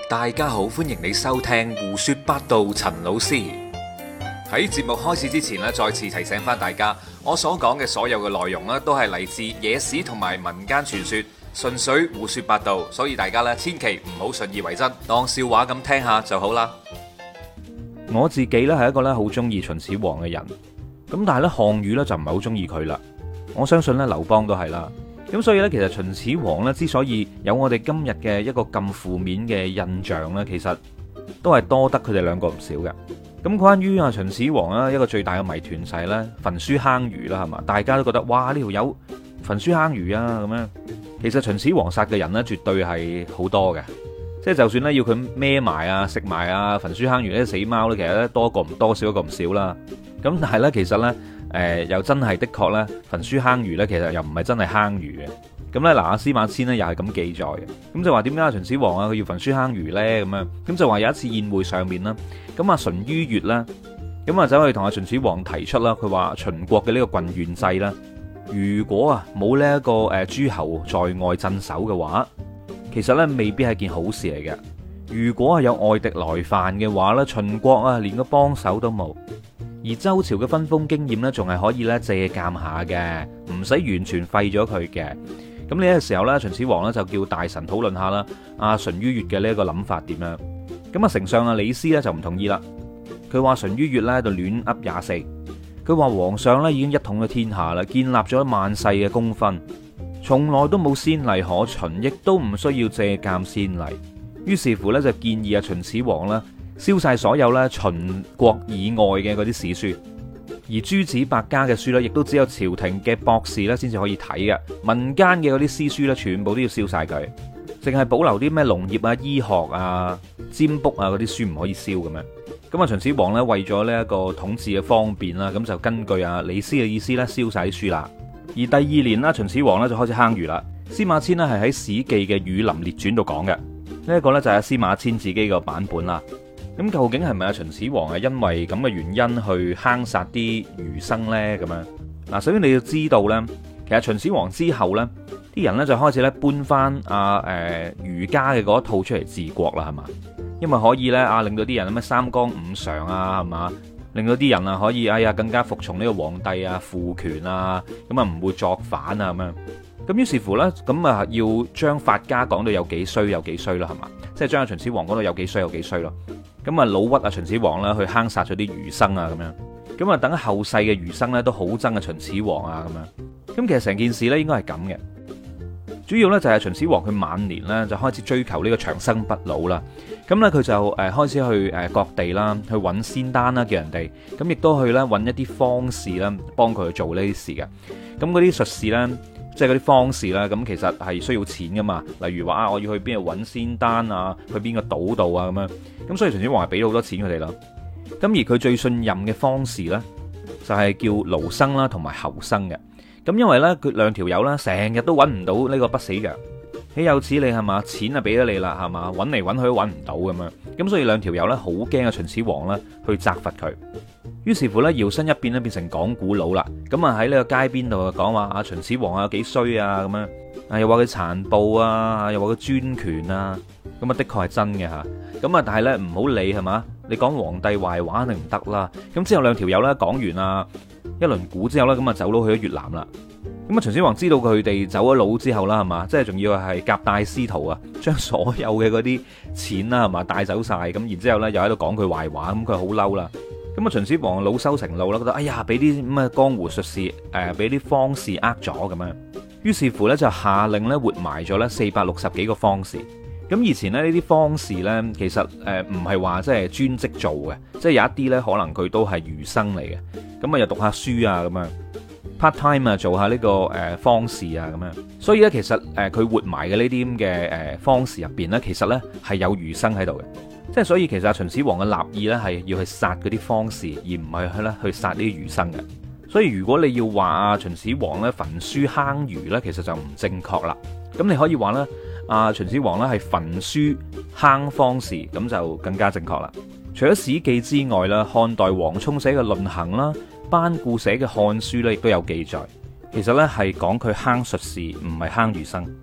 大家好，歡迎你收聽胡說八道。陳老師喺節目開始之前咧，再次提醒翻大家，我所講嘅所有嘅內容咧，都係嚟自野史同埋民間傳說，純粹胡說八道，所以大家咧千祈唔好信以為真，當笑話咁聽下就好啦。 我自己咧係一個咧好中意秦始皇嘅人，咁但係咧項羽咧就唔係好中意佢啦。我相信咧劉邦都係啦。咁所以咧，其實秦始皇咧之所以有我哋今日嘅一個咁負面嘅印象咧，其實都係多得佢哋兩個唔少嘅。咁關於啊秦始皇啦，一個最大嘅謎團就係咧焚書坑儒啦，係嘛？大家都覺得哇，呢條友焚書坑儒啊咁樣。其實秦始皇殺嘅人咧絕對係好多嘅，即係就算咧要佢孭埋啊食埋啊焚書坑儒呢啲死貓咧，其實咧多個唔多，少一個唔少啦。咁但係咧其實咧又真係的確咧焚書坑儒咧，其實又唔係真係坑儒嘅。咁咧嗱，阿司馬遷咧又係咁記載嘅。咁就話點解秦始皇啊佢要焚書坑儒咧咁樣？咁就話有一次宴會上面啦，咁啊淳于越啦，咁啊走去同阿秦始皇提出啦，佢話秦國嘅呢個郡縣制啦，如果啊冇呢一個諸侯在外鎮守嘅話，其實咧未必係件好事嚟嘅。如果係有外敵來犯嘅話咧，秦國啊連個幫手都冇。而周朝嘅分封經驗咧，仲係可以咧借鑑下嘅，唔使完全廢咗佢嘅。咁呢個時候咧，秦始皇咧就叫大臣討論下啦，阿淳于越嘅呢一個諗法點樣？咁啊，丞相啊李斯咧就唔同意啦。佢話淳于越咧喺度亂噏廿四。佢話皇上咧已經一統咗天下啦，建立咗萬世嘅功勳，從來都冇先例可循，亦都唔需要借鑑先例。於是乎咧就建議阿秦始皇啦燒晒所有咧秦國以外嘅嗰啲史書。而諸子百家嘅書咧，亦都只有朝廷嘅博士咧先至可以睇嘅，民間嘅嗰啲詩書咧，全部都要燒晒佢，淨係保留啲咩農業啊、醫學啊、占卜啊嗰啲書唔可以燒咁樣。咁啊，秦始皇咧為咗呢一個統治嘅方便啦，咁就根據啊李斯嘅意思咧燒晒啲書啦。而第二年啦，秦始皇咧就開始坑儒啦。司馬遷咧係喺《史記》嘅《儒林列傳》度講嘅，呢一個咧就係司馬遷自己個版本啦。咁究竟係咪阿秦始皇係因為咁嘅原因去坑殺啲儒生呢？咁樣嗱，首先你要知道呢，其實秦始皇之後呢，啲人呢就開始咧搬翻儒家嘅嗰一套出嚟治國啦，係嘛？因為可以呢，令到啲人咩三綱五常啊，係嘛？令到啲人啊可以更加服從呢個皇帝啊，父權啊，咁啊唔會作反啊咁樣。咁於是乎呢，咁啊要將法家講到有幾衰有幾衰啦，係嘛？即係將阿秦始皇講到有幾衰有幾衰咯。咁啊，老屈啊秦始皇啦，去坑殺咗啲儒生啊，咁樣。咁啊，等後世嘅儒生咧都好憎啊秦始皇啊，咁樣。咁其實成件事咧應該係咁嘅，主要咧就係秦始皇佢晚年咧就開始追求呢個長生不老啦。咁咧佢就開始去各地啦，去揾仙丹啦，叫人哋。咁亦都去咧揾一啲方士啦，幫佢去做呢啲事嘅。咁嗰啲術士咧，即係嗰啲方士啦，咁其實係需要錢噶嘛。例如話我要去邊度揾仙丹啊，去邊個島度啊咁樣。咁所以秦始皇係俾咗好多錢佢哋啦。咁而佢最信任嘅方士呢，就係叫盧生啦，同埋侯生嘅。咁因為呢，佢兩條友呢，成日都揾唔到呢個不死藥。豈有此理係嘛？錢啊俾咗你啦係嘛？揾嚟揾去都揾唔到咁樣。咁所以兩條友呢，好驚啊秦始皇呢去責罰佢。於是乎呢，搖身一變咧變成講古佬啦。咁啊喺呢個街邊度講話阿秦始皇啊幾衰啊咁樣。又話佢殘暴啊，又話佢專權啊。咁啊的確係真嘅吓。咁啊但係呢，唔好理係嘛？你講皇帝壞話肯定唔得啦。咁之後兩條友呢，講完啊一輪古之後呢，咁啊走佬去咗越南啦。咁啊秦始皇知道佢哋走咗佬之後啦，係嘛？即係仲要係夾帶私逃啊，將所有嘅嗰啲錢啦係嘛帶走晒。咁然之後呢又喺度講佢壞話，咁佢好嬲啦。咁啊秦始皇惱羞成怒啦，覺得哎呀俾啲咁嘅江湖術士俾啲方士呃咗咁樣。於是乎呢，就下令呢活埋咗呢460幾個方士。咁以前呢啲方士呢，其實唔係話即係專職做嘅，即係有一啲呢，可能佢都係儒生嚟嘅，咁啊又讀下書啊咁樣 part time 啊做下呢個方士啊咁樣。所以呢，其實佢活埋嘅呢啲咁嘅方士入邊呢，其實呢係有儒生喺度嘅，即係所以其實秦始皇嘅立意呢，係要去殺嗰啲方士，而唔係去殺呢啲儒生嘅。所以如果你要話秦始皇呢焚書坑儒呢，其實就唔正確啦。咁你可以話呢。秦始皇咧係焚書坑方士，咁就更加正確啦。除咗《史記》之外啦，漢代王充寫嘅《論衡》啦，班固寫嘅《漢書》咧，亦都有記載。其實咧係講佢坑術士，唔係坑儒生。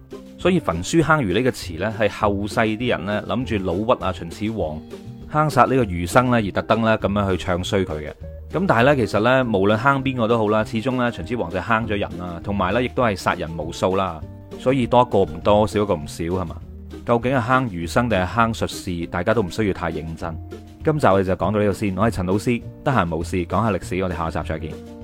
所以焚書坑儒呢個詞呢，係後世啲人呢諗住老屈啊秦始皇坑殺呢個儒生呢而特登呢咁樣去唱衰佢嘅。咁但係呢，其實呢，無論坑邊個都好啦，始終呢，秦始皇就坑咗人啦，同埋呢亦都係殺人無數啦。所以多一個唔多，少一個唔少係嘛？究竟係坑儒生定係坑術士，大家都唔需要太認真。今集我哋就講到呢度先。我係陳老師，得閒無事講下歷史，我哋下集再見。